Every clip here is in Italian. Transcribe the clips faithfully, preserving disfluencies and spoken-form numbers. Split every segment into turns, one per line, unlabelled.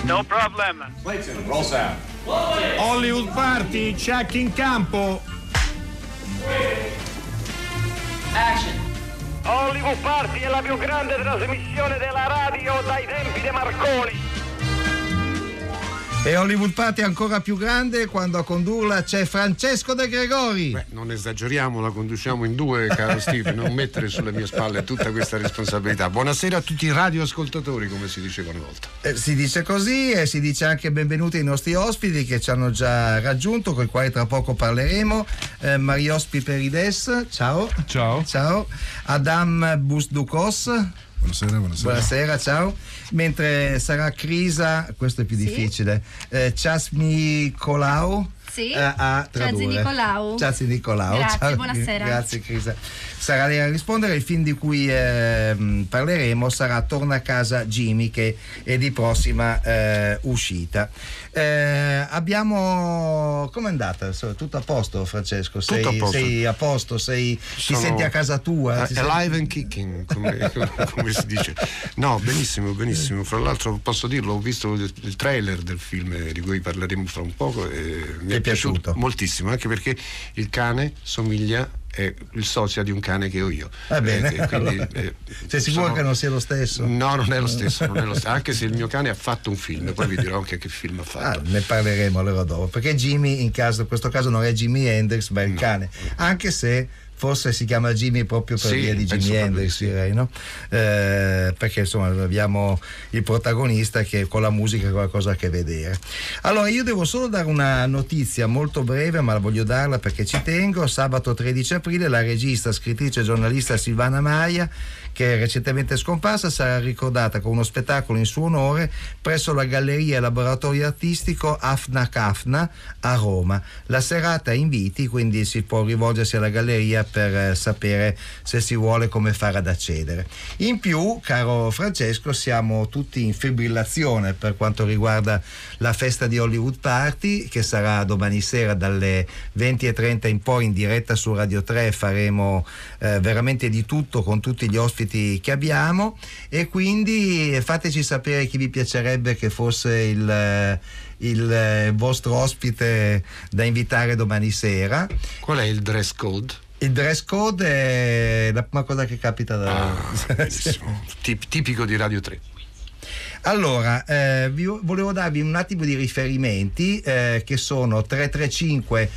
No problem.
Clayton, roll sound.
Hollywood Party, check in campo.
Action.
Hollywood Party è la più grande trasmissione della radio dai tempi di Marconi.
E Hollywood Party è ancora più grande quando a condurla c'è Francesco De Gregori.
Beh, non esageriamo, la conduciamo in due, caro Steve, non mettere sulle mie spalle tutta questa responsabilità. Buonasera a tutti i radioascoltatori, come si diceva una volta.
Eh, si dice così e si dice anche benvenuti ai nostri ospiti che ci hanno già raggiunto, con i quali tra poco parleremo. Eh, Marios Piperides, ciao.
Ciao.
Ciao. Adam Busdukos.
Buonasera, buonasera.
Buonasera, ciao. Mentre sarà Crisa, questo è più
Sì.
difficile, eh, Ciasmi Colau.
Sì.
eh, a tradurre.
Ciao Nicolau.
Ciao Nicolau.
Grazie,
Ciao,
buonasera.
Grazie Crisa. Sarà lei a rispondere. Il film di cui eh, parleremo sarà Torna a casa Jimmy, che è di prossima eh, uscita. Eh, abbiamo com'è andata? Tutto a posto, Francesco? Sei,
Tutto a posto.
sei a posto? Sei,
Sono
ti senti a casa tua?
uh,
Ti
alive and kicking, come, come si dice. No, benissimo, benissimo. Fra l'altro posso dirlo, ho visto il, il trailer del film di cui parleremo fra un poco e mi
Ti
è
è
piaciuto,
piaciuto?
moltissimo, anche perché il cane somiglia, è il sosia di un cane che ho io.
Va bene,
Eh, quindi,
allora.
eh,
Sei sicuro
sono-
che non sia lo stesso?
No, non è lo stesso, non è lo stesso, anche se il mio cane ha fatto un film, poi vi dirò anche che film ha
Ah,
fatto.
ne parleremo allora dopo, perché Jimmy in, caso, in questo caso non è Jimi Hendrix ma è il
No.
cane, anche se forse si chiama Jimmy proprio per
Sì,
via di
penso
Jimi
proprio
Hendrix,
di sì.
direi, no? Eh, perché insomma abbiamo il protagonista che con la musica ha qualcosa a che vedere. Allora io devo solo dare una notizia molto breve, ma la voglio darla perché ci tengo. Sabato tredici aprile la regista, scrittrice e giornalista Silvana Maia, che è recentemente scomparsa, sarà ricordata con uno spettacolo in suo onore presso la Galleria e Laboratorio Artistico Afna Cafna a Roma. La serata ha inviti, quindi si può rivolgersi alla galleria per eh, sapere se si vuole come fare ad accedere. In più, caro Francesco, siamo tutti in fibrillazione per quanto riguarda la festa di Hollywood Party, che sarà domani sera dalle venti e trenta in poi in diretta su Radio tre. Faremo eh, veramente di tutto con tutti gli ospiti che abbiamo, e quindi fateci sapere chi vi piacerebbe che fosse il, eh, il eh, vostro ospite da invitare domani sera.
Qual è il dress code?
Il dress code è la prima cosa che capita da...
Ah, benissimo. Tip- tipico di Radio tre.
Allora, eh, vi volevo darvi un attimo di riferimenti eh, che sono tre tre cinque,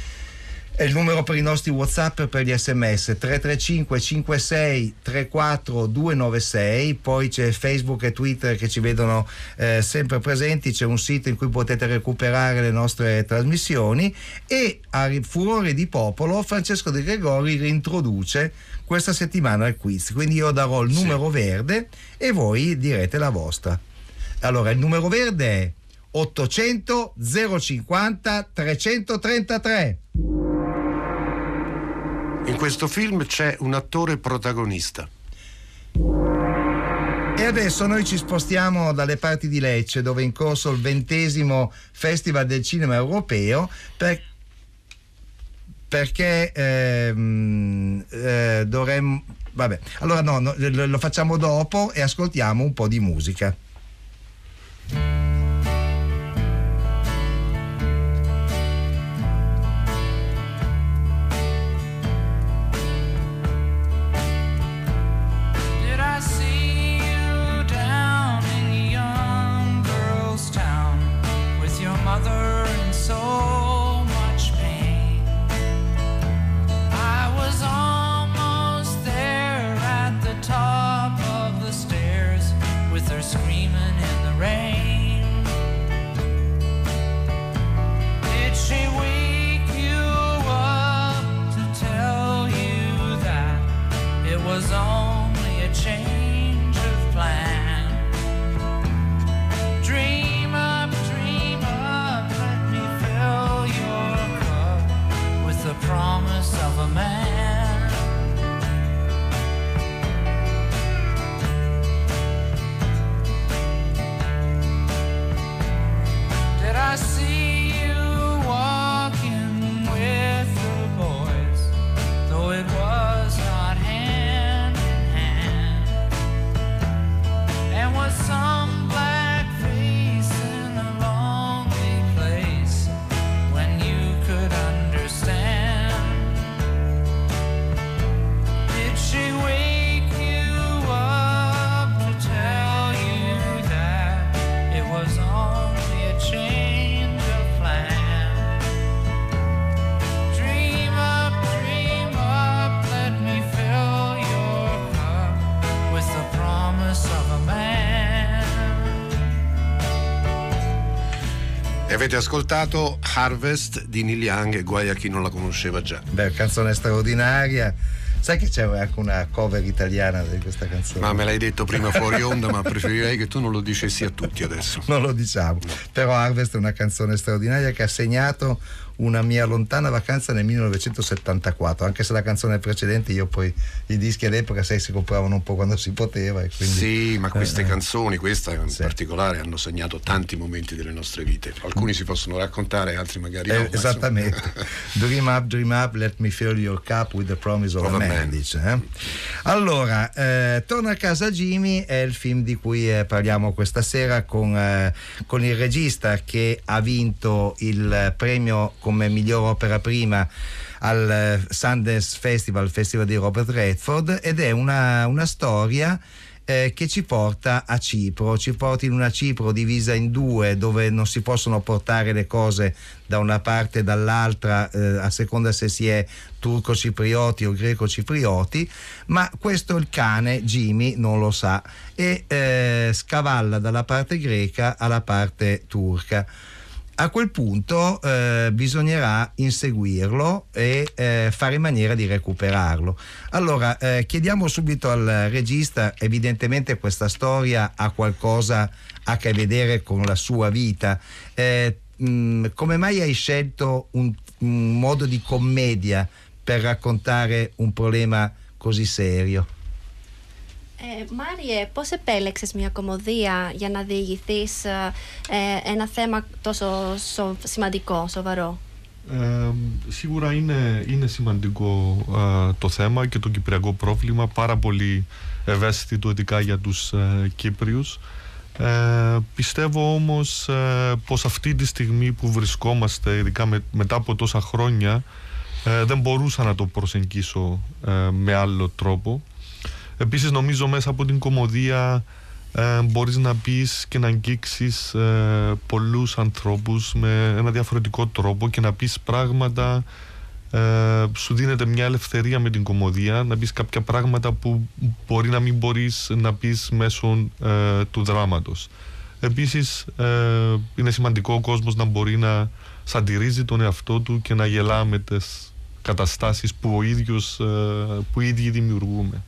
è il numero per i nostri WhatsApp e per gli sms, tre tre cinque cinque sei tre quattro due nove sei, poi c'è Facebook e Twitter che ci vedono eh, sempre presenti, c'è un sito in cui potete recuperare le nostre trasmissioni, e a furore di popolo Francesco De Gregori reintroduce questa settimana il quiz, quindi io darò il numero
Sì.
verde e voi direte la vostra. Allora, il numero verde è ottocento zero cinquanta trecentotrentatré.
In questo film c'è un attore protagonista.
E adesso noi ci spostiamo dalle parti di Lecce, dove è in corso il ventesimo Festival del Cinema Europeo, per, perché ehm, eh, dovremmo... Vabbè, allora no, no, lo, lo facciamo dopo e ascoltiamo un po' di musica.
Did I see you down in a young girl's town with your mother in so much pain? I was almost there at the top of the stairs with her screaming in the rain.
E avete ascoltato Harvest di Neil Young, e guai a chi non la conosceva già.
Beh, canzone straordinaria. Sai che c'è anche una cover italiana di questa canzone?
Ma me l'hai detto prima fuori onda, ma preferirei che tu non lo dicessi a tutti adesso.
Non lo diciamo. Però Harvest è una canzone straordinaria che ha segnato una mia lontana vacanza nel millenovecentosettantaquattro, anche se la canzone precedente, io poi i dischi all'epoca sai si compravano un po' quando si poteva e quindi,
sì, ma queste
eh,
canzoni, questa in
sì.
particolare, hanno segnato tanti momenti delle nostre vite. Alcuni si possono raccontare, altri magari
eh,
no.
Esattamente. Dream up, dream up, let me fill your cup with the promise of, of a man, man. Dice, eh? Allora, eh, Torna a casa Jimmy è il film di cui eh, parliamo questa sera con, eh, con il regista che ha vinto il premio come miglior opera prima al Sundance Festival, Festival di Robert Redford, ed è una, una storia eh, che ci porta a Cipro, ci porta in una Cipro divisa in due, dove non si possono portare le cose da una parte e dall'altra eh, a seconda se si è turco-ciprioti o greco-ciprioti, ma questo il cane Jimmy non lo sa e eh, scavalla dalla parte greca alla parte turca. A quel punto eh, bisognerà inseguirlo e eh, fare in maniera di recuperarlo. Allora eh, chiediamo subito al regista, evidentemente questa storia ha qualcosa a che vedere con la sua vita. Eh, mh, come mai hai scelto un, un modo di commedia per raccontare un problema così serio?
Ε, Μάριε, πώς επέλεξες μια κωμωδία για να διηγηθείς ε, ένα θέμα τόσο σο, σημαντικό, σοβαρό?
Ε, σίγουρα είναι, είναι σημαντικό ε, το θέμα και το κυπριακό πρόβλημα, πάρα πολύ ευαίσθητο ειδικά για τους ε, Κύπριους. Ε, πιστεύω όμως ε, πως αυτή τη στιγμή που βρισκόμαστε, ειδικά με, μετά από τόσα χρόνια, ε, δεν μπορούσα να το προσεγγίσω ε, με άλλο τρόπο. Επίσης νομίζω μέσα από την κωμωδία ε, μπορείς να πεις και να αγγίξεις ε, πολλούς ανθρώπους με ένα διαφορετικό τρόπο και να πεις πράγματα, ε, σου δίνεται μια ελευθερία με την κωμωδία, να πεις κάποια πράγματα που μπορεί να μην μπορείς να πεις μέσω ε, του δράματος. Επίσης ε, είναι σημαντικό ο κόσμος να μπορεί να σαντιρίζει τον εαυτό του και να γελά με τις καταστάσεις που, ο ίδιος, ε, που οι ίδιοι δημιουργούμε.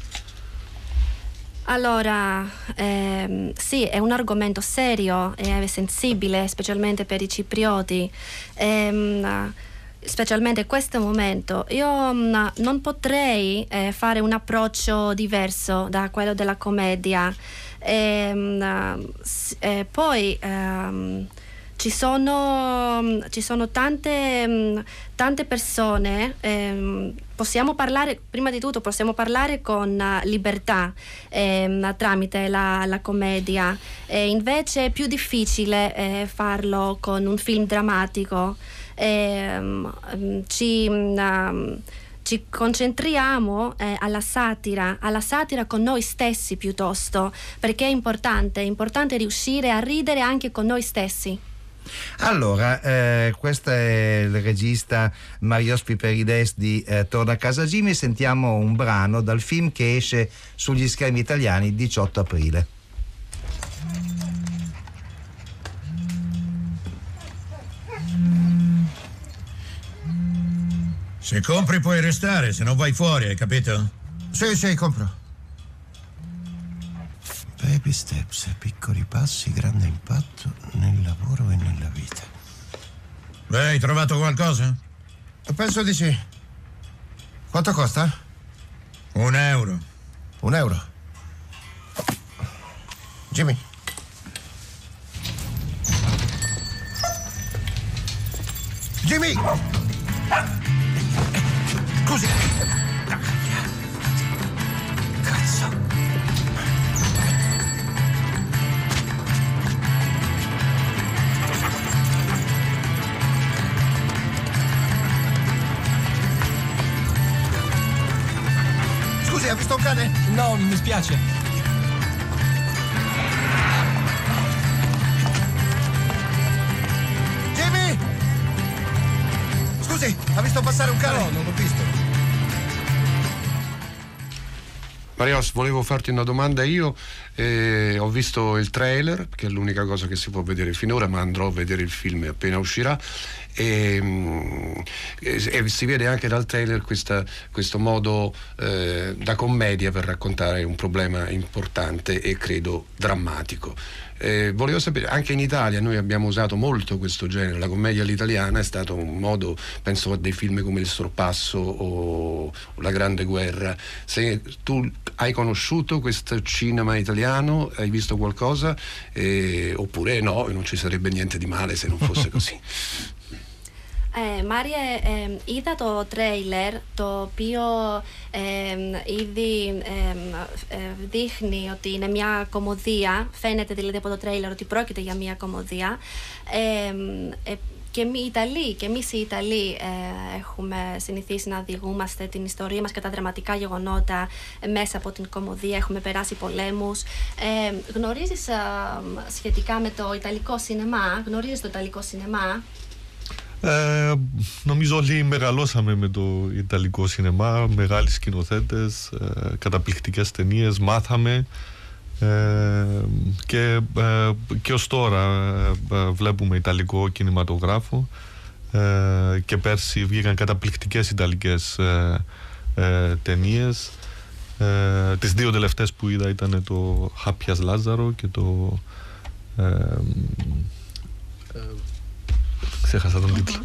Allora, ehm, sì, è un argomento serio e sensibile, specialmente per i ciprioti, ehm, specialmente in questo momento. Io mh, non potrei eh, fare un approccio diverso da quello della commedia. Ehm, eh, poi ehm, ci sono, ci sono tante, tante persone, ehm, possiamo parlare, prima di tutto possiamo parlare con uh, libertà ehm, tramite la, la commedia, e invece è più difficile eh, farlo con un film drammatico. Ehm, ci, um, ci concentriamo eh, alla satira, alla satira con noi stessi piuttosto, perché è importante, è importante riuscire a ridere anche con noi stessi.
Allora, eh, questo è il regista Marios Piperides di eh, Torna a casa Jimmy. Sentiamo un brano dal film che esce sugli schermi italiani il diciotto aprile.
Se compri puoi restare, se non vai fuori, hai capito?
Sì, sì, compro. Baby steps, piccoli passi, grande impatto nel lavoro e nella vita.
Beh, hai trovato qualcosa?
Penso di sì. Quanto costa?
Un euro.
Un euro. Jimmy. Jimmy! Scusi. Cazzo. Ha visto un cane?
No, mi spiace.
Jimmy! Scusi, ha visto passare un cane?
No, non l'ho visto.
Marios, volevo farti una domanda io. Eh, ho visto il trailer, che è l'unica cosa che si può vedere finora, ma andrò a vedere il film appena uscirà. E, e, e si vede anche dal trailer questa, questo modo eh, da commedia per raccontare un problema importante e credo drammatico. Eh, volevo sapere, anche in Italia noi abbiamo usato molto questo genere, la commedia all'italiana è stato un modo, penso a dei film come Il Sorpasso o La Grande Guerra. Se tu hai conosciuto questo cinema italiano, hai visto qualcosa, eh, oppure no, non ci sarebbe niente di male se non fosse così.
Ε, Μάριε, ε, είδα το τρέιλερ το οποίο ε, ήδη ε, ε, δείχνει ότι είναι μια κωμωδία. Φαίνεται δηλαδή από το τρέιλερ ότι πρόκειται για μια κωμωδία. Ε, ε, και οι Ιταλοί, και εμείς οι Ιταλοί ε, έχουμε συνηθίσει να διηγούμαστε την ιστορία μας και τα δραματικά γεγονότα ε, μέσα από την κωμωδία. Έχουμε περάσει πολέμους. Ε, γνωρίζεις ε, σχετικά με το Ιταλικό σινεμά, γνωρίζεις το Ιταλικό σινεμά?
Ε, νομίζω όλοι μεγαλώσαμε με το Ιταλικό σινεμά, μεγάλοι σκηνοθέτες, ε, καταπληκτικές ταινίες, μάθαμε ε, και, ε, και ως τώρα ε, βλέπουμε Ιταλικό κινηματογράφο ε, και πέρσι βγήκαν καταπληκτικές Ιταλικές ε, ε, ταινίες. Ε, τις δύο τελευταίες που είδα ήταν το Χάπιας Λάζαρο και το ε, ε, ξέχασα τον τίτλο.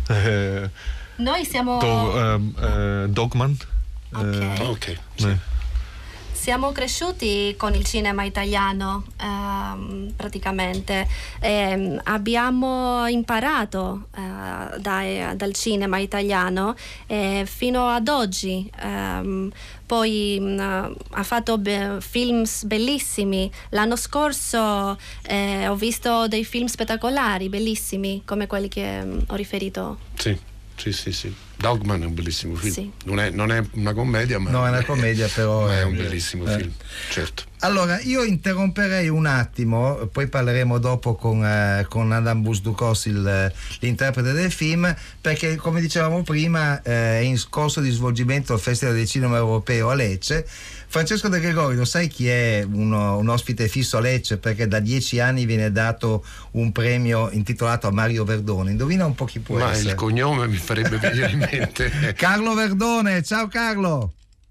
Noi siamo...
Το Dogman.
Ok.
Ok.
Ναι.
Siamo cresciuti con il cinema italiano ehm, praticamente. Ehm, abbiamo imparato eh, dai, dal cinema italiano eh, fino ad oggi. Ehm, poi mh, ha fatto be- film bellissimi. L'anno scorso eh, ho visto dei film spettacolari, bellissimi, come quelli che mh, ho riferito.
Sì, sì, sì, sì. Dogman è un bellissimo film.
Sì.
Non, è, non è una commedia, ma
No, è una commedia, però
ma è
è-
un bellissimo
eh.
film, certo.
Allora, io interromperei un attimo, poi parleremo dopo con, eh, con Adam Busdukos, il, l'interprete del film, perché come dicevamo prima eh, è in corso di svolgimento il Festival del Cinema Europeo a Lecce. Francesco De Gregori, lo sai chi è uno, un ospite fisso a Lecce? Perché da dieci anni viene dato un premio intitolato a Mario Verdone. Indovina un po' chi può
Ma
essere.
il cognome mi farebbe venire in mente.
Carlo Verdone, ciao Carlo!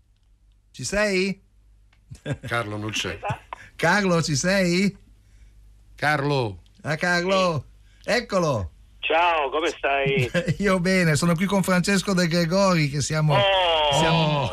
Ci sei?
Carlo non c'è.
Carlo, ci sei?
Carlo!
Ah, Carlo! Eccolo!
Ciao, come stai?
Io bene, sono qui con Francesco De Gregori che siamo...
Oh,
siamo...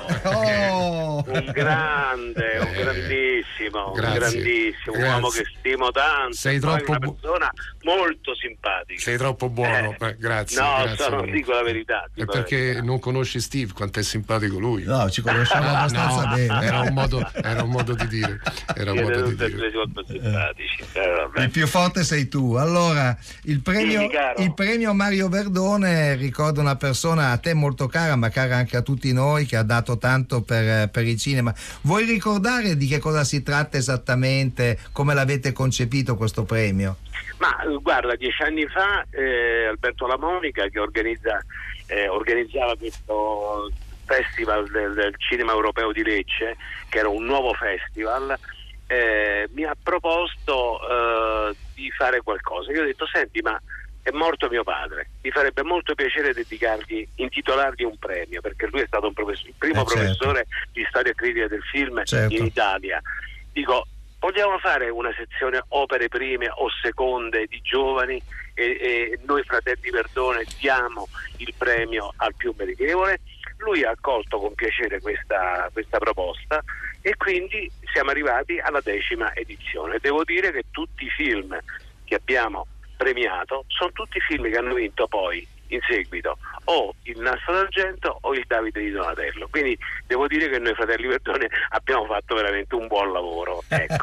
Oh.
un grande, un
Eh,
grandissimo, un
grazie,
grandissimo
grazie.
uomo che stimo tanto.
Sei
poi
troppo
una
bu-
persona molto simpatica.
Sei troppo buono,
Eh,
eh, grazie.
no,
grazie.
so, non dico la verità.
È
dico la
perché
verità.
non conosci Steve, quanto è simpatico lui.
No, ci conosciamo
Ah,
abbastanza
no,
bene.
Era un modo, era un modo di dire. Era un
Siete
modo di
tutti e
dire.
due molto simpatici. Eh, vabbè.
Il più forte sei tu. Allora, il premio,
Dimmi, caro.
il premio Mario Verdone ricorda una persona a te molto cara, ma cara anche a tutti noi, che ha dato tanto per, per il cinema. Vuoi ricordare di che cosa si tratta esattamente, come l'avete concepito questo premio?
Ma eh, guarda, dieci anni fa eh, Alberto La Monica, che organizza, eh, organizzava questo festival del, del cinema europeo di Lecce, che era un nuovo festival, eh, mi ha proposto eh, di fare qualcosa. Io ho detto: senti, ma è morto mio padre, mi farebbe molto piacere dedicargli, intitolargli un premio, perché lui è stato un professore, il primo
Eh, certo.
professore di storia critica del film
Certo.
in Italia. Dico, vogliamo fare una sezione opere prime o seconde di giovani e, e noi fratelli Verdone diamo il premio al più meritevole? Lui ha accolto con piacere questa, questa proposta e quindi siamo arrivati alla decima edizione. Devo dire che tutti i film che abbiamo premiato sono tutti film che hanno vinto poi in seguito o il Nastro d'Argento o il Davide di Donatello, quindi devo dire che noi fratelli Verdone abbiamo fatto veramente un buon lavoro, ecco.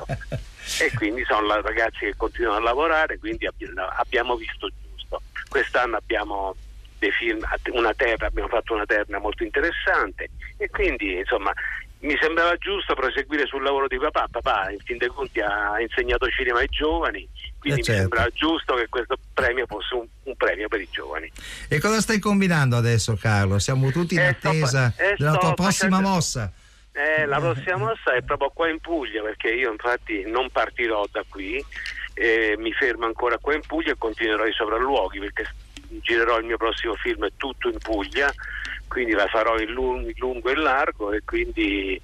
E quindi sono la- ragazzi che continuano a lavorare, quindi abbi- abbiamo visto giusto. Quest'anno abbiamo dei film, una terna, abbiamo fatto una terna molto interessante e quindi insomma mi sembrava giusto proseguire sul lavoro di papà. Papà in fin dei conti ha insegnato cinema ai giovani, quindi
Eh, certo.
mi sembrava giusto che questo premio fosse un, un premio per i giovani.
E cosa stai combinando adesso, Carlo? Siamo tutti in
Eh, sto fa-
attesa
eh,
della
sto
tua prossima
facendo-
mossa.
Eh, la prossima mossa è proprio qua in Puglia, perché io infatti non partirò da qui, eh, mi fermo ancora qua in Puglia e continuerò i sopralluoghi, perché girerò il mio prossimo film tutto in Puglia, quindi la farò in lungo, in lungo e in largo, e quindi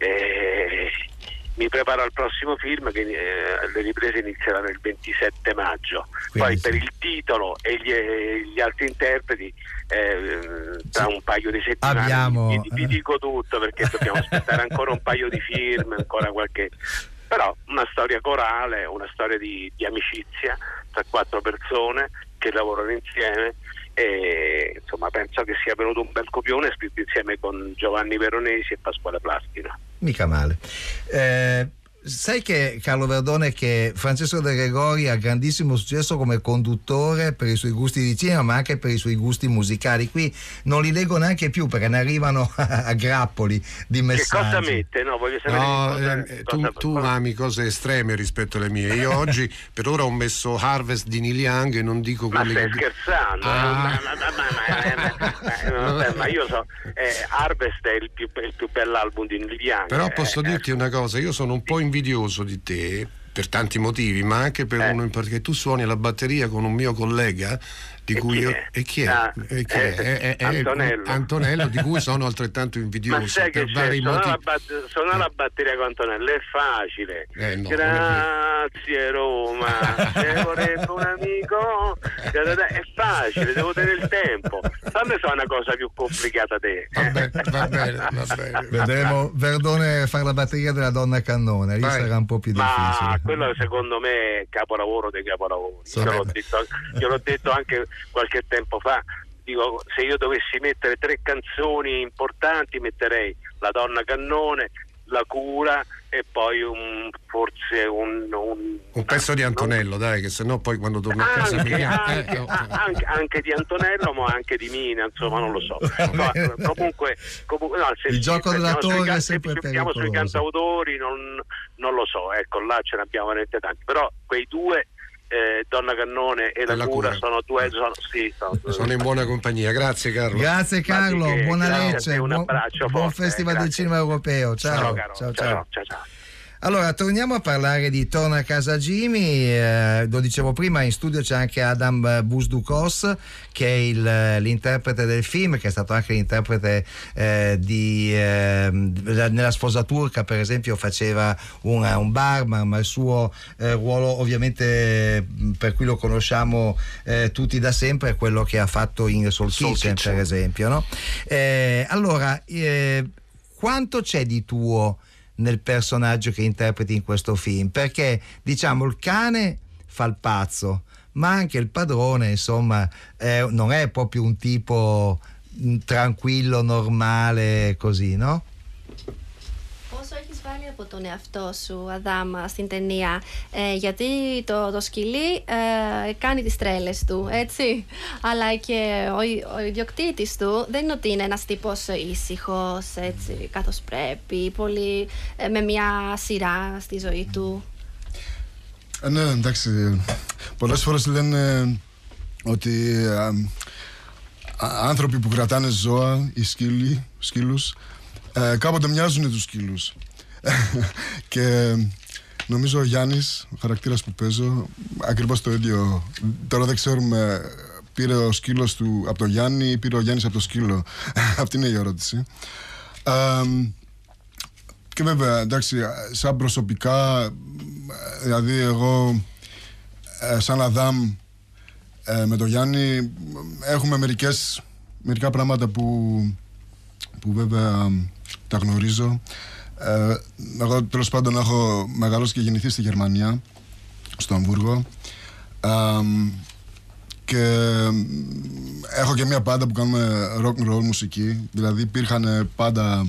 eh, mi preparo al prossimo film che eh, le riprese inizieranno il ventisette maggio. Quindi poi sì, per il titolo e gli, gli altri interpreti eh, tra un paio di settimane
abbiamo...
vi, vi dico tutto, perché dobbiamo aspettare ancora un paio di film, ancora qualche... però una storia corale, una storia di, di amicizia tra quattro persone che lavorano insieme, e insomma penso che sia venuto un bel copione, scritto insieme con Giovanni Veronesi e Pasquale Plastina.
Mica male. Eh, sai che Carlo Verdone, che Francesco De Gregori ha grandissimo successo come conduttore per i suoi gusti di cinema, ma anche per i suoi gusti musicali. Qui non li leggo neanche più perché ne arrivano a grappoli di messaggi.
Che cosa mette? No, voglio sapere.
No,
cosa,
eh,
cosa,
tu, tu
cosa...
ami cose estreme rispetto alle mie. Io oggi per ora ho messo Harvest di Neil Young e non dico
ma
quelli
stai
che...
scherzando?
Ah.
Ma, ma, ma, ma, ma, ma, ma io so, eh, Harvest è il più, il più bell'album di Neil Young.
Però posso
eh,
dirti una cosa, io sono un po' invidioso di te per tanti motivi, ma anche per
eh.
uno in perché tu suoni la batteria con un mio collega di
e
cui
chi
io
è?
e chi è?
Ah,
e chi è?
eh,
È, è,
Antonello.
È Antonello, di cui sono altrettanto invidioso.
Ma sai che
per
c'è?
vari
Suonare
motivi.
la, bat- suonare la batteria con Antonello è facile.
Eh, no,
Grazie Roma, se vorrebbe un amico, è facile, devo tenere il tempo. Fammi fare una cosa più complicata te.
Va bene, va bene, va bene.
Vedremo Verdone fare la batteria della Donna Cannone, lì
Vai.
sarà un po' più
Ma
difficile.
quello secondo me è capolavoro dei capolavori. Io l'ho, detto, io l'ho detto anche qualche tempo fa. Dico, se io dovessi mettere tre canzoni importanti metterei La Donna Cannone, La Cura e poi un, forse un, un,
Un pezzo di Antonello,
non...
dai, che sennò poi quando torno a casa
anche,
mi chiama.
anche,
Eh, oh.
anche, anche di Antonello, ma anche di Mina, insomma, non lo so. Ma, comunque, comunque no, se
il gioco della torre
can-
è sempre
se
pericoloso.
sui cantautori non, non lo so, ecco, là ce ne abbiamo veramente tanti, però quei due eh, Donna Cannone e La,
La
Cura,
Cura.
sono due sono, sì, sono,
Sono in buona compagnia, grazie Carlo.
Grazie Carlo,
che,
buona
grazie a
Lecce,
te, un
buon,
abbraccio
buon
forte,
Festival
eh,
del
grazie.
Cinema Europeo. Ciao,
Ciao, caro.
ciao,
ciao,
ciao.
ciao, ciao.
Allora, torniamo a parlare di Torna a casa Jimmy. Eh, lo dicevo prima, in studio c'è anche Adam Busdukos, che è il, l'interprete del film, che è stato anche l'interprete eh, di eh, nella Sposa turca, per esempio, faceva una, un barman, ma il suo eh, ruolo ovviamente per cui lo conosciamo eh, tutti da sempre è quello che ha fatto in Soul,
Soul
Kitchen,
Kitchen,
per esempio, no? Eh, allora, eh, quanto c'è di tuo nel personaggio che interpreti in questo film? Perché diciamo il cane fa il pazzo, ma anche il padrone, insomma, eh, non è proprio un tipo mh, tranquillo, normale, così, no?
Πόσο έχεις βάλει από τον εαυτό σου, Αδάμ, στην ταινία, ε, γιατί το, το σκυλί ε, κάνει τις τρέλες του, έτσι, αλλά και ο, ο ιδιοκτήτης του δεν είναι ότι είναι ένας τύπος ήσυχος, έτσι, καθώς πρέπει, πολύ, ε, με μια σειρά στη ζωή του.
Ε, ναι, εντάξει, πολλές φορές λένε ότι α, α, άνθρωποι που κρατάνε ζώα, οι σκύλοι, σκύλους, Ε, κάποτε μοιάζουν τους σκύλους. Και νομίζω ο Γιάννης, ο χαρακτήρας που παίζω, ακριβώς το ίδιο. Τώρα δεν ξέρουμε, πήρε ο σκύλος του από το Γιάννη ή πήρε ο Γιάννης από το σκύλο. Αυτή είναι η ερώτηση. Ε, και βέβαια, εντάξει, σαν προσωπικά, δηλαδή εγώ σαν Αδάμ με τον Γιάννη έχουμε μερικές, μερικά πράγματα που, που βέβαια τα γνωρίζω. Ε, εγώ τέλος πάντων έχω μεγαλώσει και γεννηθεί στη Γερμανία, στο Αμβούργο, ε, και έχω και μια πάντα που κάνουμε rock and roll μουσική, δηλαδή υπήρχαν πάντα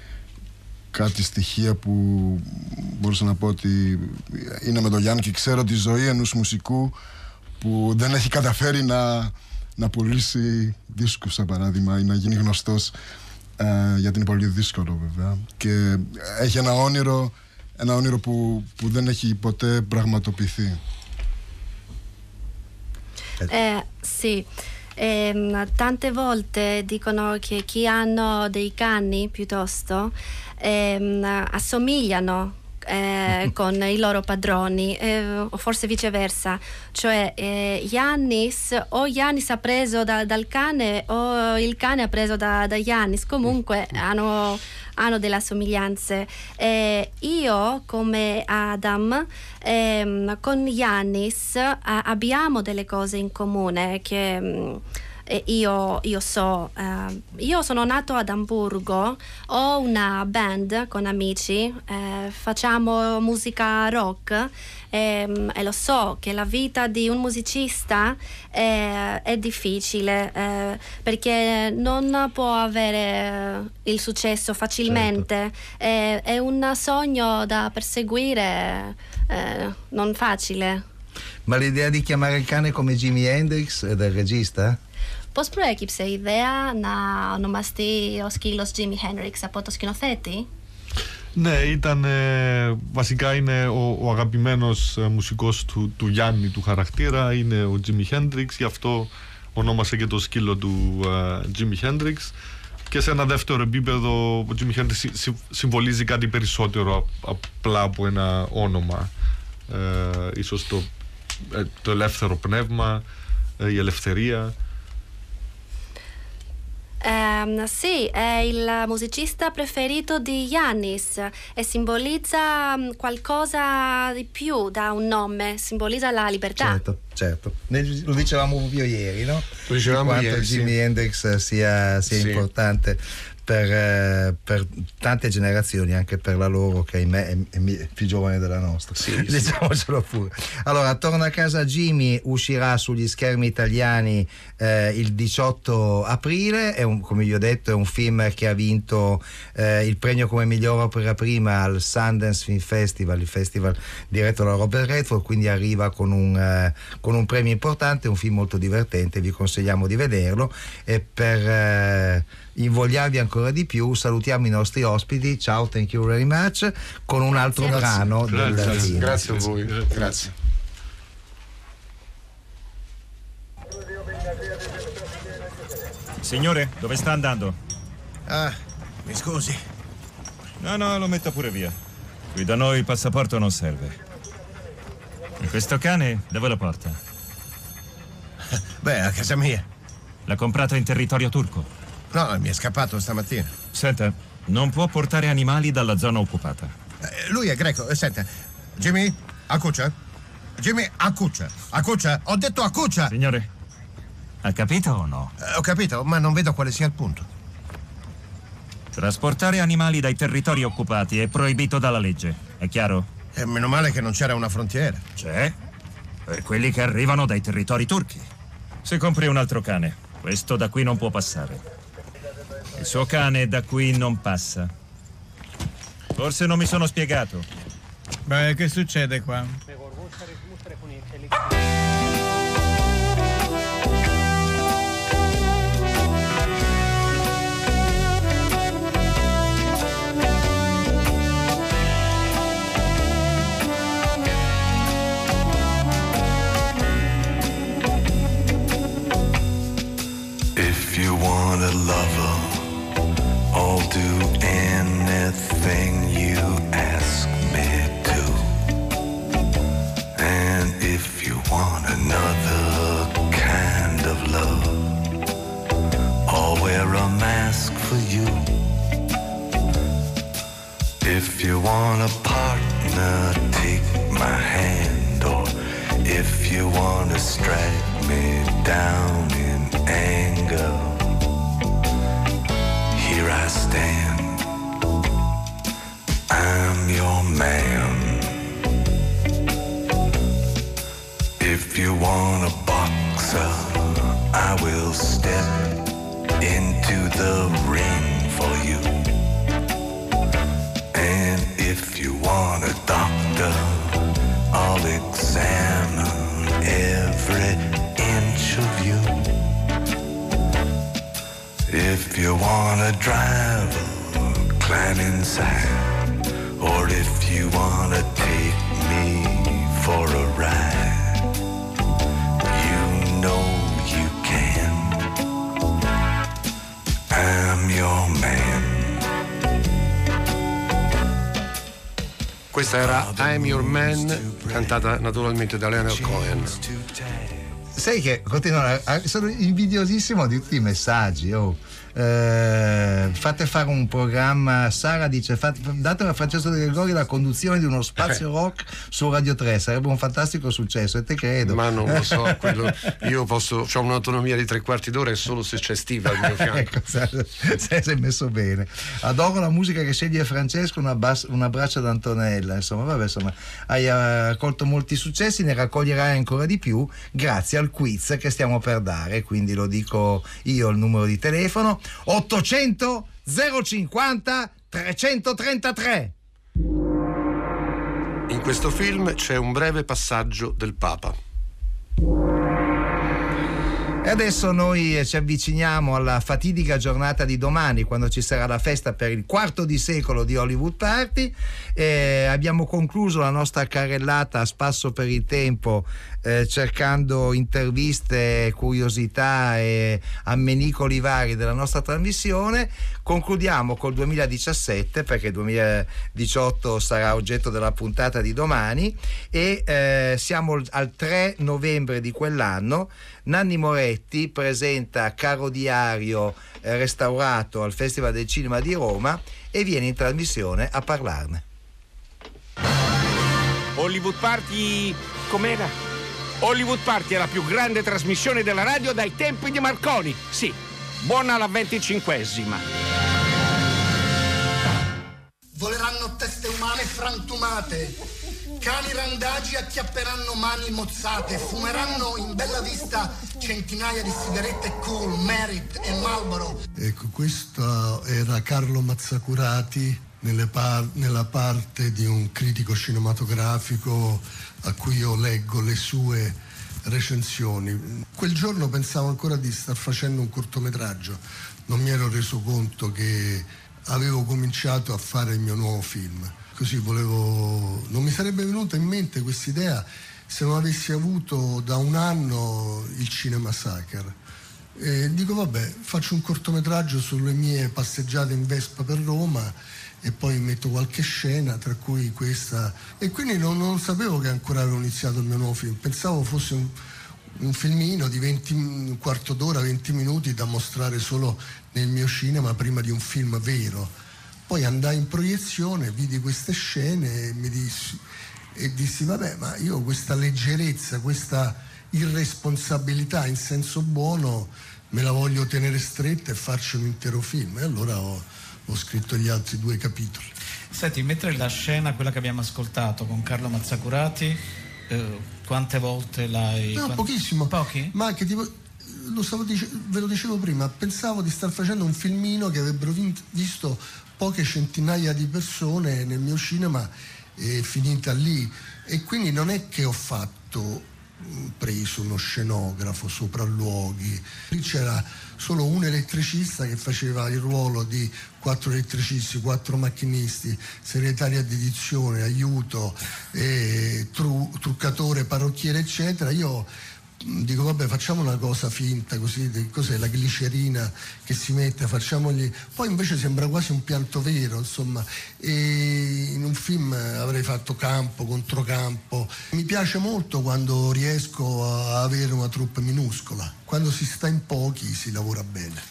κάτι στοιχεία που μπορούσα να πω ότι είναι με τον Γιάννη, και ξέρω τη ζωή ενός μουσικού που δεν έχει καταφέρει να, να πουλήσει δίσκους, σαν παράδειγμα, ή να γίνει γνωστός. Ε, γιατί είναι πολύ δύσκολο βέβαια, και έχει ένα όνειρο, ένα όνειρο που, που δεν έχει ποτέ πραγματοποιηθεί.
Eh, sì, ehm, tante volte dicono che chi hanno dei cani piuttosto ehm, assomigliano Eh, con i loro padroni, eh, o forse viceversa, cioè eh, Giannis o Giannis ha preso da, dal cane o il cane ha preso da, da Giannis, comunque hanno, hanno delle assomiglianze. Eh, io come Adam ehm, con Giannis eh, abbiamo delle cose in comune che mh, E io, io so, uh, io sono nato ad Amburgo, ho una band con amici, eh, facciamo musica rock e, e lo so che la vita di un musicista è, è difficile eh, perché non può avere il successo facilmente, certo. è, è un sogno da perseguire, eh, non facile.
Ma l'idea di chiamare il cane come Jimi Hendrix è del regista?
Posprojekt se ιδέα να ονομαστεί ο σκύλος Jimi Hendrix από το σκηνοθέτη?
Ναι, ήταν ε, βασικά είναι ο, ο αγαπημένος ε, μουσικός του, του Γιάννη του χαρακτήρα, είναι ο Jimi Hendrix, γι' αυτό ονόμασε και το σκύλο του ε, Jimi Hendrix. Και σε ένα δεύτερο επίπεδο ο Jimi Hendrix συ, συ, συμβολίζει κάτι περισσότερο απλά από ένα όνομα, ε, ίσως το, ε, το ελεύθερο πνεύμα, ε, η ελευθερία.
Um, sì, è il musicista preferito di Giannis e simbolizza qualcosa di più da un nome, simbolizza la libertà.
Certo, certo. Lo dicevamo proprio ieri, no?
Lo dicevamo
quanto
ieri,
Jimi
sì.
Hendrix sia, sia
sì.
importante per, eh, per tante generazioni, anche per la loro che ahimè è, è, è più giovane della nostra,
sì,
diciamocelo sì. pure. Allora, Torna a casa Jimmy uscirà sugli schermi italiani eh, il diciotto aprile, è un, come vi ho detto è un film che ha vinto eh, il premio come miglior opera prima al Sundance Film Festival, il festival diretto da Robert Redford, quindi arriva con un, eh, con un premio importante, è un film molto divertente, vi consigliamo di vederlo. E per eh, invogliarvi ancora di più salutiamo i nostri ospiti, ciao, thank you very much, con un altro
grazie.
brano
grazie.
del
Grazie.
film.
Grazie a voi, grazie. grazie.
Signore, dove sta andando?
Ah, mi scusi.
No, no, lo metto pure via. Qui da noi il passaporto non serve. E questo cane dove lo porta?
Beh, a casa mia.
L'ha comprato in territorio turco?
No, mi è scappato stamattina.
Senta, non può portare animali dalla zona occupata.
Eh, lui è greco. Eh, senta, Jimmy, accuccia. Jimmy, accuccia. Accuccia, ho detto accuccia.
Signore, ha capito o no?
Eh, ho capito, ma non vedo quale sia il punto.
Trasportare animali dai territori occupati è proibito dalla legge, è chiaro?
E meno male che non c'era una frontiera.
C'è, per quelli che arrivano dai territori turchi. Se compri un altro cane, questo da qui non può passare. Il suo cane da qui non passa. Forse non mi sono spiegato.
Beh, che succede qua?
If you want a lover, I'll do anything you ask me to. And if you want another kind of love, I'll wear a mask for you. If you want a partner, take my hand. Or if you want to strike me down in anger, here I stand, I'm your man. If you want a boxer, I will step into the ring for you. And if you want a doctor, I'll examine every inch of you. If you wanna drive, climb inside. Or if you wanna take me for a ride, you know you can.
Questa era I'm Your Man, cantata naturalmente da Leonard Cohen.
Sai che continuano a, sono invidiosissimo di tutti i messaggi. Oh. Eh, fate fare un programma. Sara dice fate, datemi a Francesco De Gregori la conduzione di uno spazio rock su Radio tre, sarebbe un fantastico successo, e te credo.
Ma non lo so, quello, io posso, ho un'autonomia di tre quarti d'ora e solo se c'è Steve al mio fianco.
Ecco, sei, sei messo bene. Adoro la musica che sceglie Francesco, un, abbas, un abbraccio ad Antonella. Insomma, vabbè, insomma, hai raccolto molti successi, ne raccoglierai ancora di più grazie al quiz che stiamo per dare, quindi lo dico io il numero di telefono: ottocento zero cinquanta trecentotrentatré.
In questo film c'è un breve passaggio del Papa.
E adesso noi ci avviciniamo alla fatidica giornata di domani, quando ci sarà la festa per il quarto di secolo di Hollywood Party. Eh, abbiamo concluso la nostra carrellata a spasso per il tempo, eh, cercando interviste, curiosità e ammenicoli vari della nostra trasmissione. Concludiamo col duemiladiciassette, perché il duemiladiciotto sarà oggetto della puntata di domani, e eh, siamo al tre novembre di quell'anno. Nanni Moretti presenta Caro Diario eh, restaurato al Festival del Cinema di Roma e viene in trasmissione a parlarne.
Hollywood Party com'era? Hollywood Party è la più grande trasmissione della radio dai tempi di Marconi. Sì, buona la venticinquesima.
Voleranno teste umane frantumate, cani randagi acchiapperanno mani mozzate, fumeranno in bella vista centinaia di sigarette Cool, Merit e Marlboro.
Ecco, questo era Carlo Mazzacurati nelle par- nella parte di un critico cinematografico a cui io leggo le sue recensioni. Quel giorno pensavo ancora di star facendo un cortometraggio, non mi ero reso conto che avevo cominciato a fare il mio nuovo film. Così volevo, non mi sarebbe venuta in mente questa idea se non avessi avuto da un anno il Cinema Massacre. E dico vabbè, faccio un cortometraggio sulle mie passeggiate in Vespa per Roma e poi metto qualche scena, tra cui questa, e quindi non, non sapevo che ancora avevo iniziato il mio nuovo film, pensavo fosse un, un filmino di venti, un quarto d'ora, venti minuti da mostrare solo nel mio cinema prima di un film vero. Poi andai in proiezione, vidi queste scene e mi dissi, e dissi vabbè, ma io questa leggerezza, questa irresponsabilità in senso buono me la voglio tenere stretta e farci un intero film. E allora ho, ho scritto gli altri due capitoli.
Senti, mentre la scena, quella che abbiamo ascoltato con Carlo Mazzacurati, eh, quante volte l'hai...
No,
quant...
pochissimo.
Pochi?
Ma che tipo... Lo stavo dice- ve lo dicevo prima, pensavo di star facendo un filmino che avrebbero visto poche centinaia di persone nel mio cinema e finita lì. E quindi non è che ho fatto, preso uno scenografo, sopralluoghi. Lì c'era solo un elettricista che faceva il ruolo di quattro elettricisti, quattro macchinisti, segretaria di edizione, aiuto, eh, tru- truccatore, parrucchiere, eccetera. Io dico vabbè, facciamo una cosa finta così, cos'è la glicerina che si mette, facciamogli, poi invece sembra quasi un pianto vero, insomma, e in un film avrei fatto campo, controcampo. Mi piace molto quando riesco a avere una troupe minuscola, quando si sta in pochi si lavora bene.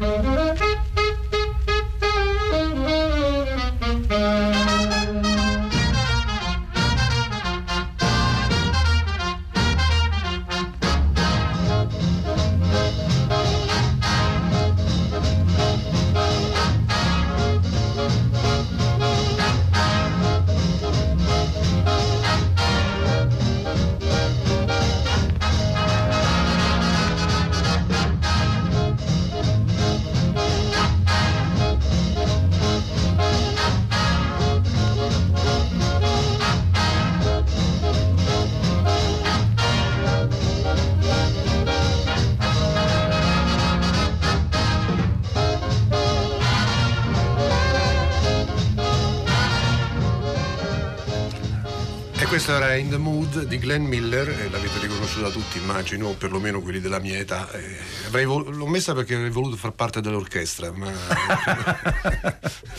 Questa era In the Mood di Glenn Miller, e l'avete riconosciuta tutti, immagino, o perlomeno quelli della mia età. Eh, avrei vol- l'ho messa perché avrei voluto far parte dell'orchestra, ma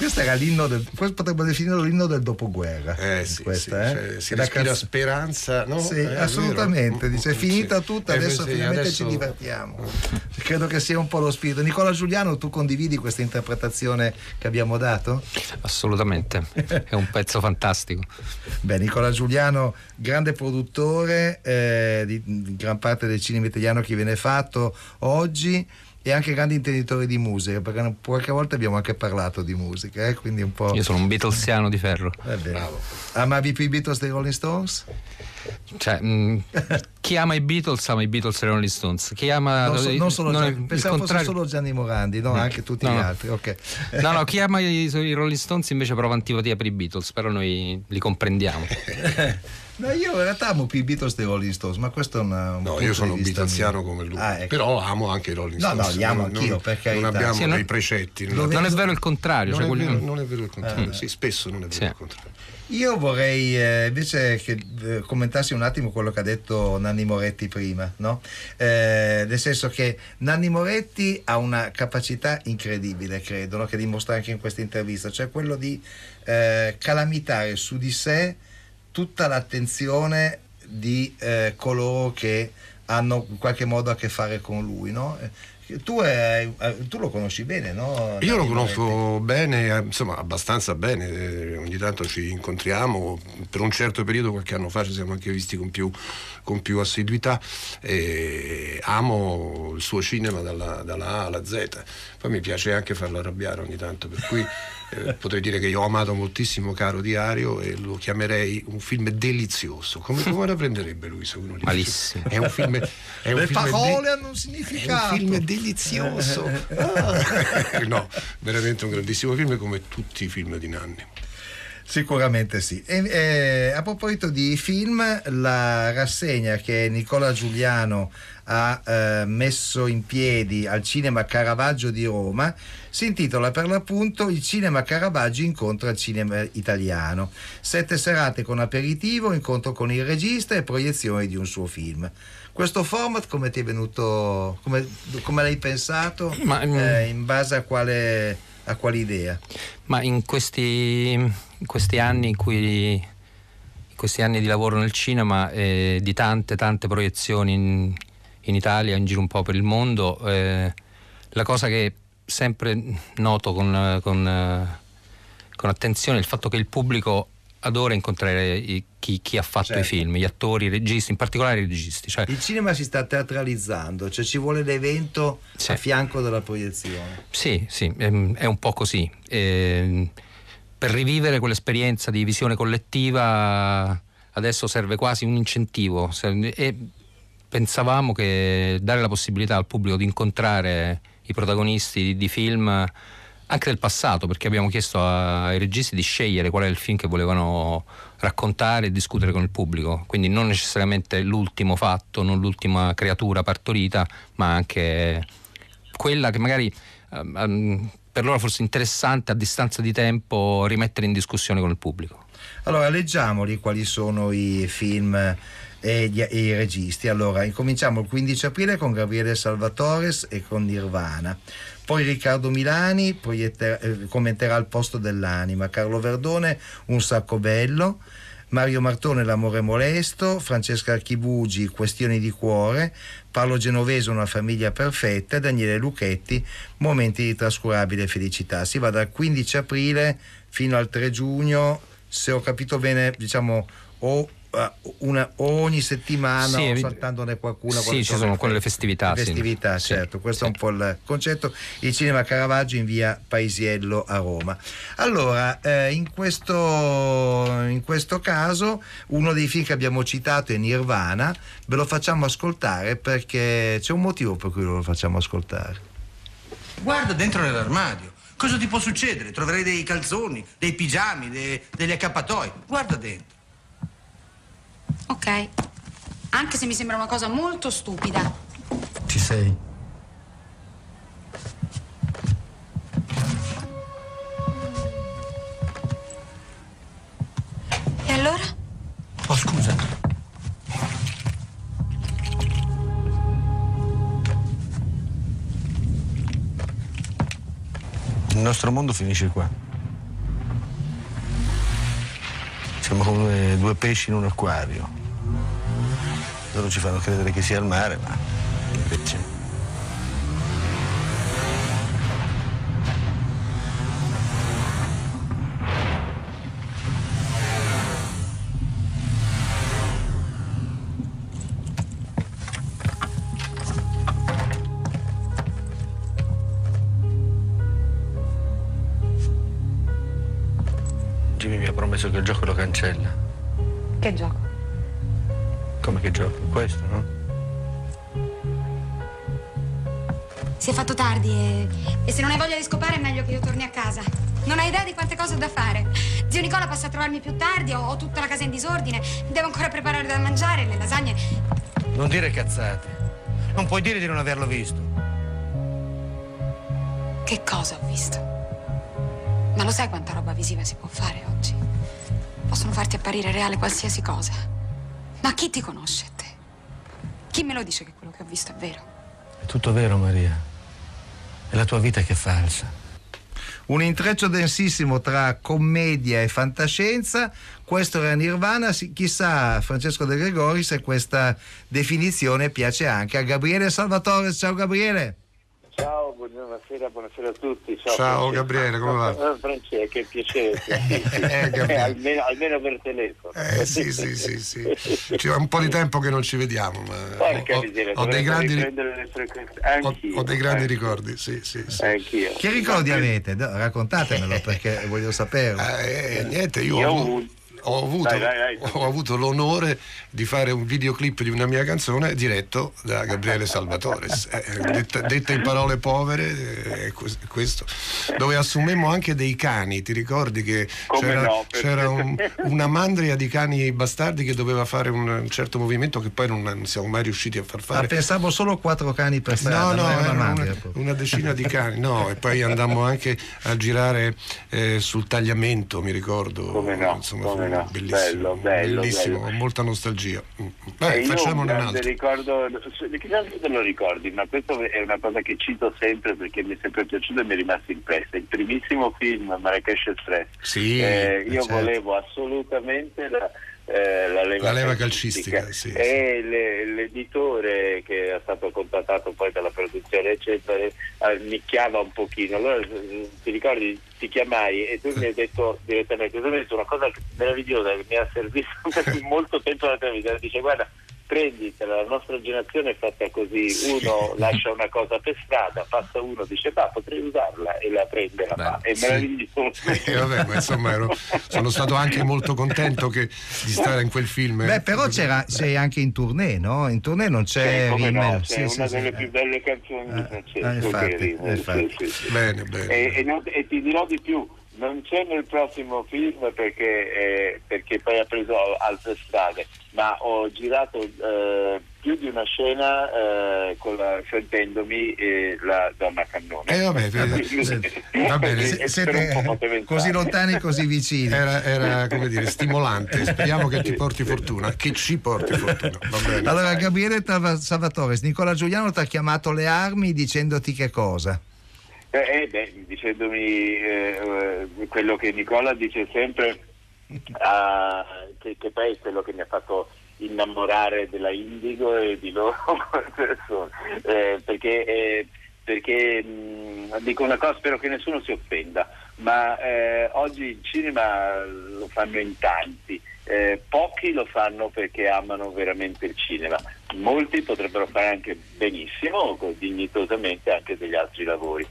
Questo era l'inno del, questo potrebbe definirlo l'inno del dopoguerra.
Eh sì,
questa,
sì,
eh?
cioè, si
La
respira
canz-
speranza, no?
Sì,
Eh,
assolutamente.
vero?
Dice è finita
Sì.
tutta,
Eh,
adesso
sì,
finalmente
adesso-
ci divertiamo. Credo che sia un po' lo spirito. Nicola Giuliano, tu condividi questa interpretazione che abbiamo dato?
Assolutamente, è un pezzo fantastico.
Beh, Nicola Giuliano, grande produttore eh, di, di gran parte del cinema italiano che viene fatto oggi, e anche grande intenditore di musica, perché qualche volta abbiamo anche parlato di musica, eh, quindi un po'.
Io sono un Beatlesiano di ferro.
Bravo. Amavi più i Beatles dei Rolling Stones?
Cioè, mh, chi ama i Beatles ama i Beatles e i Rolling Stones. Chi ama
Non, so, non solo
non è-
Gianni,
il
pensavo fosse
contrario-
solo Gianni Morandi, no,
Mm.
anche tutti
No,
gli
no.
altri. Ok.
No, no, chi ama i, i Rolling Stones invece prova antipatia per i Beatles, però noi li comprendiamo.
No, io in realtà amo più i Beatles dei Rolling Stones, ma questo è una, un
No,
punto
io sono
di vista
Beatlesiano
mio.
come lui,
Ah, ecco.
però amo anche i Rolling
No,
Stones.
no, li amo
Non-
anch'io,
non-
per carità.
Non abbiamo
Sì, non-
dei precetti.
Non è vero il contrario.
Non,
cioè
è
quelli-
vero, non è vero il contrario,
Eh.
sì, spesso non è vero
Sì.
il contrario.
Io vorrei eh, invece che eh, commentassi un attimo quello che ha detto Nanni Moretti prima, no? Eh, nel senso che Nanni Moretti ha una capacità incredibile, credo, no? Che dimostra anche in questa intervista, cioè quello di eh, calamitare su di sé tutta l'attenzione di eh, coloro che hanno in qualche modo a che fare con lui, no? Eh, Tu, hai- eh, tu lo conosci bene, no?
Io lo
Nanni
conosco
Moretti?
bene, eh, insomma abbastanza bene, eh, ogni tanto ci incontriamo, per un certo periodo qualche anno fa ci siamo anche visti con più, con più assiduità, e amo il suo cinema dalla, dalla A alla Z, poi mi piace anche farlo arrabbiare ogni tanto, per cui eh, potrei dire che io ho amato moltissimo Caro Diario e lo chiamerei un film delizioso. Come, come la prenderebbe lui se uno gli dice?
Malissimo.
È un film, è un
Le
film
parole
de-
hanno un
è
significato.
un film delizioso. Ah. No, veramente un grandissimo film come tutti i film di Nanni.
Sicuramente sì. E, eh, a proposito di film, la rassegna che Nicola Giuliano ha eh, messo in piedi al Cinema Caravaggio di Roma si intitola per l'appunto Il cinema Caravaggio incontra il cinema italiano. Sette serate con aperitivo, incontro con il regista e proiezione di un suo film. Questo format come ti è venuto, come, come l'hai pensato?
Ma, mm,
eh, in base a quale, a quale idea?
Ma in questi, in questi anni in cui in questi anni di lavoro nel cinema, eh, di tante tante proiezioni in, in Italia, in giro un po' per il mondo, eh, la cosa che sempre noto con, con, eh, con attenzione è il fatto che il pubblico adora incontrare i, chi, chi ha fatto
Certo.
i film, gli attori, i registi, in particolare i registi. Cioè,
Il cinema si sta teatralizzando, cioè ci vuole l'evento
Sì.
a fianco della proiezione.
Sì, sì, ehm, è un po' così. Ehm, per rivivere quell'esperienza di visione collettiva adesso serve quasi un incentivo, serve- e pensavamo che dare la possibilità al pubblico di incontrare i protagonisti di, di film anche del passato, perché abbiamo chiesto a- ai registi di scegliere qual è il film che volevano raccontare e discutere con il pubblico, quindi non necessariamente l'ultimo fatto, non l'ultima creatura partorita, ma anche quella che magari ehm, ehm, per loro forse interessante a distanza di tempo rimettere in discussione con il pubblico.
Allora, leggiamoli quali sono i film e, gli, e i registi. Allora, incominciamo il quindici aprile con Gabriele Salvatores e con Nirvana. Poi Riccardo Milani proietterà, eh, commenterà Il posto dell'anima, Carlo Verdone Un sacco bello, Mario Martone L'amore molesto, Francesca Archibugi Questioni di cuore, Paolo Genovese Una famiglia perfetta e Daniele Lucchetti Momenti di trascurabile felicità. Si va dal quindici aprile fino al tre giugno, se ho capito bene, diciamo o una, ogni settimana
Sì,
o saltandone qualcuna.
sì,
quali
ci sono quelle festività,
le
sì.
festività,
Sì,
certo, questo
sì.
è un po' il concetto. Il cinema Caravaggio in via Paisiello a Roma. Allora, eh, in questo in questo caso uno dei film che abbiamo citato è Nirvana. Ve lo facciamo ascoltare perché c'è un motivo per cui lo facciamo ascoltare.
Guarda dentro nell'armadio. Cosa ti può succedere? Troverai dei calzoni, dei pigiami, de- degli accappatoi. Guarda dentro.
Ok, anche se mi sembra una cosa molto stupida.
Ci sei.
E allora?
Oh, scusa. Il nostro mondo finisce qua. come due pesci in un acquario. Loro ci fanno credere che sia il mare, ma invece... Jimmy mi ha promesso che il gioco lo cancella.
Che gioco?
Come che gioco? Questo, no?
Si è fatto tardi e, e se non hai voglia di scopare è meglio che io torni a casa. Non hai idea di quante cose ho da fare. Zio Nicola passa a trovarmi più tardi, ho, ho tutta la casa in disordine, devo ancora preparare da mangiare, le lasagne.
Non dire cazzate. Non puoi dire di non averlo visto.
Che cosa ho visto? Ma lo sai quanta roba visiva si può fare oggi? Possono farti apparire reale qualsiasi cosa. Ma chi ti conosce te? Chi me lo dice che quello che ho visto è vero?
È tutto vero, Maria. È la tua vita che è falsa.
Un intreccio densissimo tra commedia e fantascienza. Questo era Nirvana. Chissà, Francesco De Gregori, se questa definizione piace anche a Gabriele Salvatore. Ciao Gabriele.
Ciao, buonasera, buonasera a tutti. Ciao,
Ciao Gabriele, come va?
Francesco, che piacere.
eh,
almeno, almeno per telefono.
Eh sì, sì, sì, sì. C'è un po' di tempo che non ci vediamo, ma
Porca
ho,
miseria,
ho, dei grandi,
le frequenze.
ho, ho dei grandi ricordi, sì, sì, sì.
Anch'io.
Che ricordi avete? Raccontatemelo perché voglio saperlo.
Eh, niente, io,
Io
ho,
ho
avuto, ho, avuto,
dai, dai, dai.
ho avuto l'onore di fare un videoclip di una mia canzone diretto da Gabriele Salvatore, eh, detta, detta in parole povere, eh, questo, dove assumemmo anche dei cani. Ti ricordi che
Come
c'era,
no,
c'era un, una mandria di cani bastardi che doveva fare un, un certo movimento che poi non, non siamo mai riusciti a far fare.
Ma pensavo solo quattro cani per
No,
strada.
no,
non era
era
una,
una,
mandria,
una decina di cani, no, e poi andammo anche a girare eh, sul tagliamento, mi ricordo.
Come no,
insomma,
come no.
bellissimo,
Bello, bello,
bellissimo,
bello.
ho molta nostalgia.
Beh, io
facciamone
un
un
grande
altro.
ricordo, chissà se te lo ricordi, ma questo è una cosa che cito sempre perché mi è sempre piaciuto e mi è rimasto impressa. Il primissimo film, Marrakesh Express.
Sì,
eh, io
certo.
volevo assolutamente la, eh, la leva,
La leva
calcistica,
calcistica, sì,
e le, l'editore che è stato contattato poi dalla produzione eccetera eh, nicchiava un pochino. Allora ti ricordi, ti chiamai e tu mi hai detto direttamente, tu mi hai detto una cosa meravigliosa che mi ha servito per molto tempo alla televisione. Dice: guarda, prenditela, la nostra generazione è fatta così, uno lascia una cosa per strada, passa uno, dice bah, potrei usarla, e la prende, la fa, è
sì.
meraviglioso.
Eh, vabbè, ma insomma ero, sono stato anche molto contento che, di stare in quel film.
Beh, però c'era, sei anche in tournée, no? In tournée non c'è
Sì, come no,
Rimmel.
c'è
Sì,
una
sì,
delle
sì.
più belle canzoni di Francesco,
eh, infatti,
che è Rimmel,
eh, infatti.
sì, sì, sì.
Bene, bene.
E, e, non- e ti dirò di più, non c'è nel prossimo film perché, eh, perché poi ha preso altre strade, ma ho girato eh, più di una scena eh, con la, sentendomi eh, la donna cannone.
Eh vabbè, vabbè, va bene,
E- e
siete
per un po' poteva entrare.
così lontani, così vicini.
Era, era, come dire, stimolante. Speriamo che ti porti fortuna, che ci porti fortuna. Va bene.
Allora, Gabriele Tava- Salvatore, Nicola Giuliano ti ha chiamato le armi dicendoti che cosa?
Eh, eh, beh, dicendomi eh, eh, quello che Nicola dice sempre, ah, che, che poi è quello che mi ha fatto innamorare della Indigo e di loro come persone, eh, perché, eh, perché mh, dico una cosa, spero che nessuno si offenda, ma eh, oggi il cinema lo fanno in tanti. Eh, pochi lo fanno perché amano veramente il cinema, molti potrebbero fare anche benissimo, dignitosamente, anche degli altri lavori.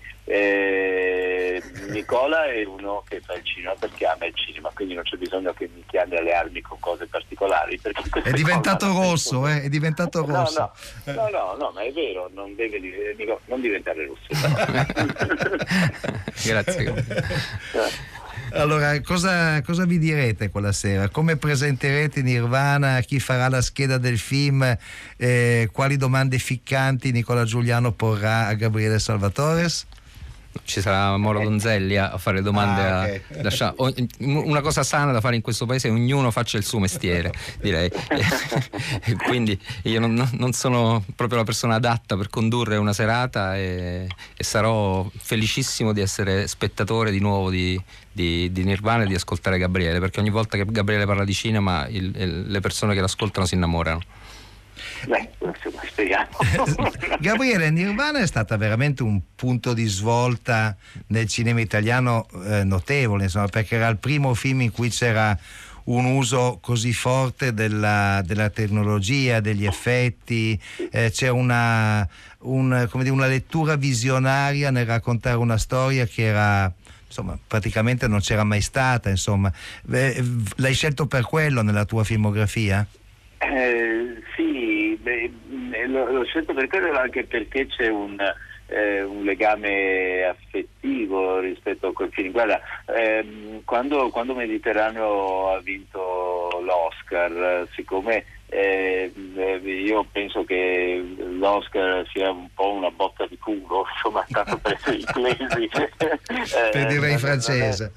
Eh, Nicola è uno che fa il cinema perché ama il cinema, quindi non c'è bisogno che mi chiami alle armi con cose particolari, perché
È diventato rosso, eh? È diventato
no,
rosso.
no, no, no, no, ma è vero, non deve Nicola, non diventare rosso.
Grazie.
Allora, cosa, cosa vi direte quella sera? Come presenterete Nirvana? Chi farà la scheda del film? Eh, quali domande ficcanti Nicola Giuliano porrà a Gabriele Salvatore?
ci sarà Moro Donzelli a fare domande.
Ah,
a,
okay.
lascia, una cosa sana da fare in questo paese è ognuno faccia il suo mestiere, direi. E quindi io non, non sono proprio la persona adatta per condurre una serata e, e sarò felicissimo di essere spettatore di nuovo di, di, di Nirvana e di ascoltare Gabriele, perché ogni volta che Gabriele parla di cinema il, il, le persone che l'ascoltano si innamorano.
Beh, insomma, speriamo.
Gabriele, Nirvana è stata veramente un punto di svolta nel cinema italiano eh, notevole, insomma, perché era il primo film in cui c'era un uso così forte della, della tecnologia, degli effetti, eh, c'è una, un, come dire, una lettura visionaria nel raccontare una storia che era, insomma, praticamente non c'era mai stata, insomma. Eh, l'hai scelto per quello nella tua filmografia?
Eh, sì, beh, l'ho scelto per quello anche perché c'è un, eh, un legame affettivo rispetto a quel film. Guarda, ehm, quando, quando Mediterraneo ha vinto l'Oscar, siccome eh, io penso che l'Oscar sia un po' una botta di culo, insomma, tanto per essere inglesi,
per dire in francese,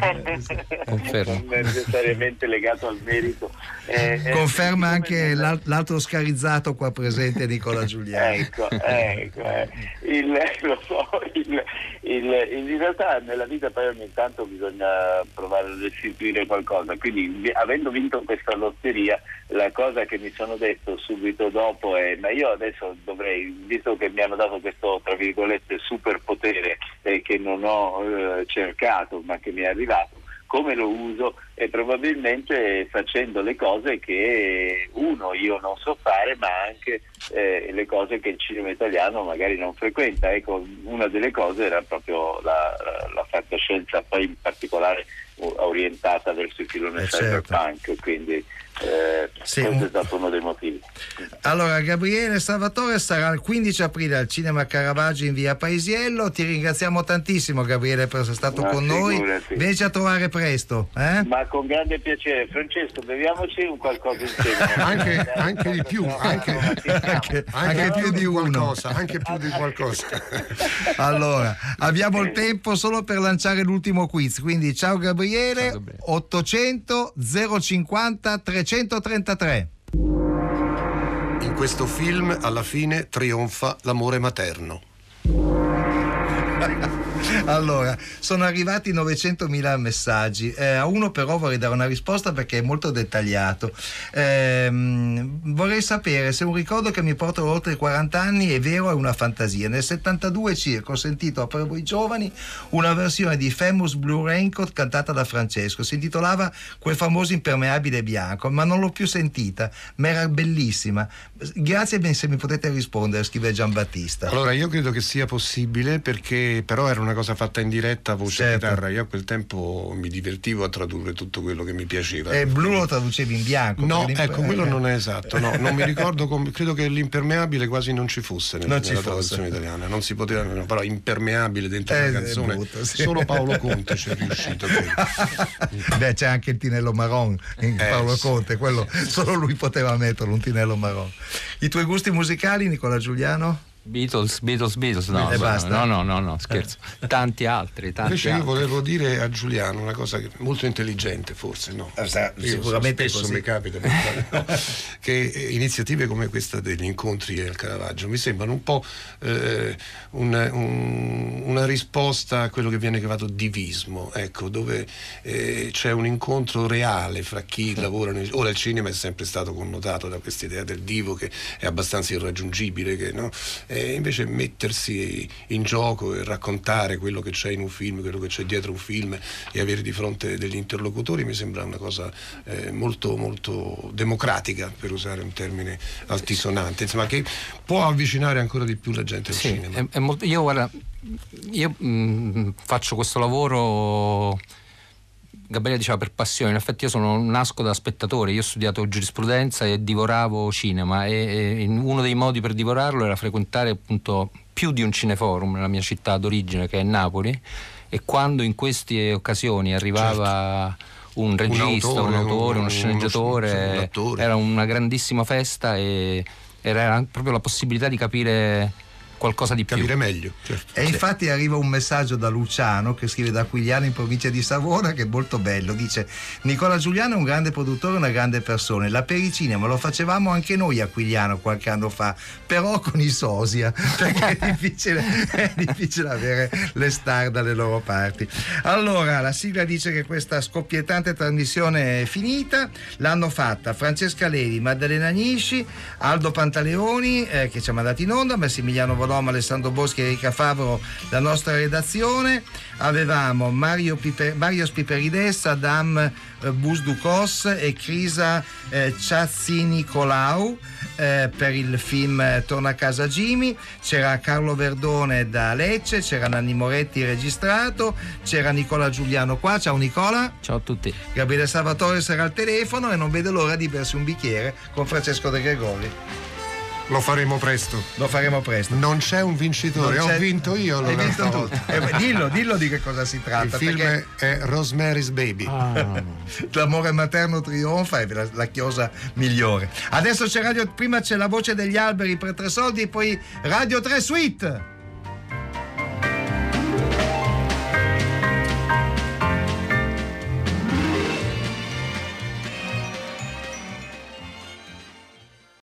confermo, non necessariamente legato al merito. Eh,
conferma anche l'al- l'altro oscarizzato qua presente, Nicola Giuliano.
Ecco, ecco eh. il, lo so, il, il, in realtà nella vita poi ogni tanto bisogna provare a restituire qualcosa, quindi avendo vinto questa lotteria, la cosa che mi sono detto subito dopo è: ma io adesso dovrei, visto che mi hanno dato questo tra virgolette superpotere eh, che non ho eh, cercato ma che mi è arrivato, come lo uso? E probabilmente facendo le cose che uno io non so fare, ma anche eh, le cose che il cinema italiano magari non frequenta. Ecco, una delle cose era proprio la, la, la fantascienza, poi in particolare orientata verso il filone
eh
cyberpunk, certo. Quindi eh,
sì,
questo
un...
è stato uno dei motivi.
Allora, Gabriele Salvatore sarà il quindici aprile al Cinema Caravaggio in via Paesiello. Ti ringraziamo tantissimo, Gabriele, per essere stato
Ma
con
figurati.
noi. Vienici a trovare presto, eh?
Ma con grande piacere. Francesco, beviamoci un qualcosa insieme.
anche, anche di più, anche, anche, anche più di qualcosa, anche più di qualcosa.
Allora, abbiamo il tempo solo per lanciare l'ultimo quiz, quindi ciao Gabriele. ottocento zero cinquanta trecentotrentatré.
In questo film alla fine trionfa l'amore materno.
Allora, sono arrivati novecentomila messaggi, eh, a uno però vorrei dare una risposta perché è molto dettagliato. Eh, vorrei sapere se un ricordo che mi porta oltre quaranta anni è vero o è una fantasia. Nel settantadue circa ho sentito per voi giovani una versione di Famous Blue Raincoat cantata da Francesco, si intitolava Quel famoso impermeabile bianco, ma non l'ho più sentita, ma era bellissima. Grazie se mi potete rispondere, scrive Giambattista.
Allora, io credo che sia possibile, perché però era una cosa fatta in diretta, voce e
certo.
chitarra. Io a quel tempo mi divertivo a tradurre tutto quello che mi piaceva.
E blu lo traducevi in bianco?
No, ecco, quello non è esatto, no, non mi ricordo come, credo che l'impermeabile quasi non ci fosse nella,
non ci
nella
fosse.
traduzione italiana, non si poteva, no, però impermeabile dentro
eh,
la canzone,
brutto, sì.
Solo Paolo Conte ci è riuscito.
Beh, c'è anche il tinello marron in
eh,
Paolo
sì,
Conte, quello
sì.
Solo lui poteva metterlo, un tinello marron. I tuoi gusti musicali, Nicola Giuliano?
Beatles, Beatles, Beatles, no,
e basta.
no, no, no, no, scherzo. Tanti altri, tanti
Invece io
altri.
volevo dire a Giuliano una cosa che, molto intelligente, forse, no?
Eh, sa,
Io
sicuramente
spesso
così.
mi capita no? che eh, iniziative come questa degli incontri al Caravaggio mi sembrano un po' eh, un, un, una risposta a quello che viene chiamato divismo, ecco, dove eh, c'è un incontro reale fra chi lavora nel... Ora il cinema è sempre stato connotato da questa idea del divo che è abbastanza irraggiungibile, che, no? E invece mettersi in gioco e raccontare quello che c'è in un film, quello che c'è dietro un film e avere di fronte degli interlocutori mi sembra una cosa eh, molto molto democratica, per usare un termine altisonante, insomma, che può avvicinare ancora di più la gente al
sì,
cinema.
È, è molto, io guarda, io mh, faccio questo lavoro, Gabriele diceva, per passione. In effetti io sono, nasco da spettatore, io ho studiato giurisprudenza e divoravo cinema e, e uno dei modi per divorarlo era frequentare appunto più di un cineforum nella mia città d'origine, che è Napoli, e quando in queste occasioni arrivava certo. un regista, un autore, un autore uno, uno sceneggiatore, uno, era una grandissima festa e era proprio la possibilità di capire qualcosa di più.
Capire meglio. Certo.
E infatti arriva un messaggio da Luciano, che scrive da Aquigliano in provincia di Savona, che è molto bello. Dice: Nicola Giuliano è un grande produttore, una grande persona. La pericinema lo facevamo anche noi a Aquigliano qualche anno fa, però con i sosia, perché è difficile, è difficile avere le star dalle loro parti. Allora, la sigla dice che questa scoppiettante trasmissione è finita. L'hanno fatta Francesca Levi, Maddalena Nisci, Aldo Pantaleoni, eh, che ci ha mandato in onda, Massimiliano Voloma, Alessandro Boschi e Erika Favro, la nostra redazione. Avevamo Mario, Piper, Mario Spiperides, Adam eh, Busducos e Crisa eh, Ciazzi Nicolau eh, per il film eh, Torna a casa Jimmy. C'era Carlo Verdone da Lecce, c'era Nanni Moretti registrato, c'era Nicola Giuliano qua. Ciao Nicola.
Ciao a tutti. Gabriele
Salvatore sarà al telefono e non vede l'ora di bersi un bicchiere con Francesco De Gregori.
Lo faremo presto.
Lo faremo presto.
Non c'è un vincitore, ho vinto io.
Hai vinto tu. Eh, dillo, dillo di che cosa si tratta.
Il film
perché...
è Rosemary's Baby.
Ah. L'amore materno trionfa, è la, la chiosa migliore. Adesso c'è Radio, prima c'è La voce degli alberi per tre soldi e poi Radio tre Suite.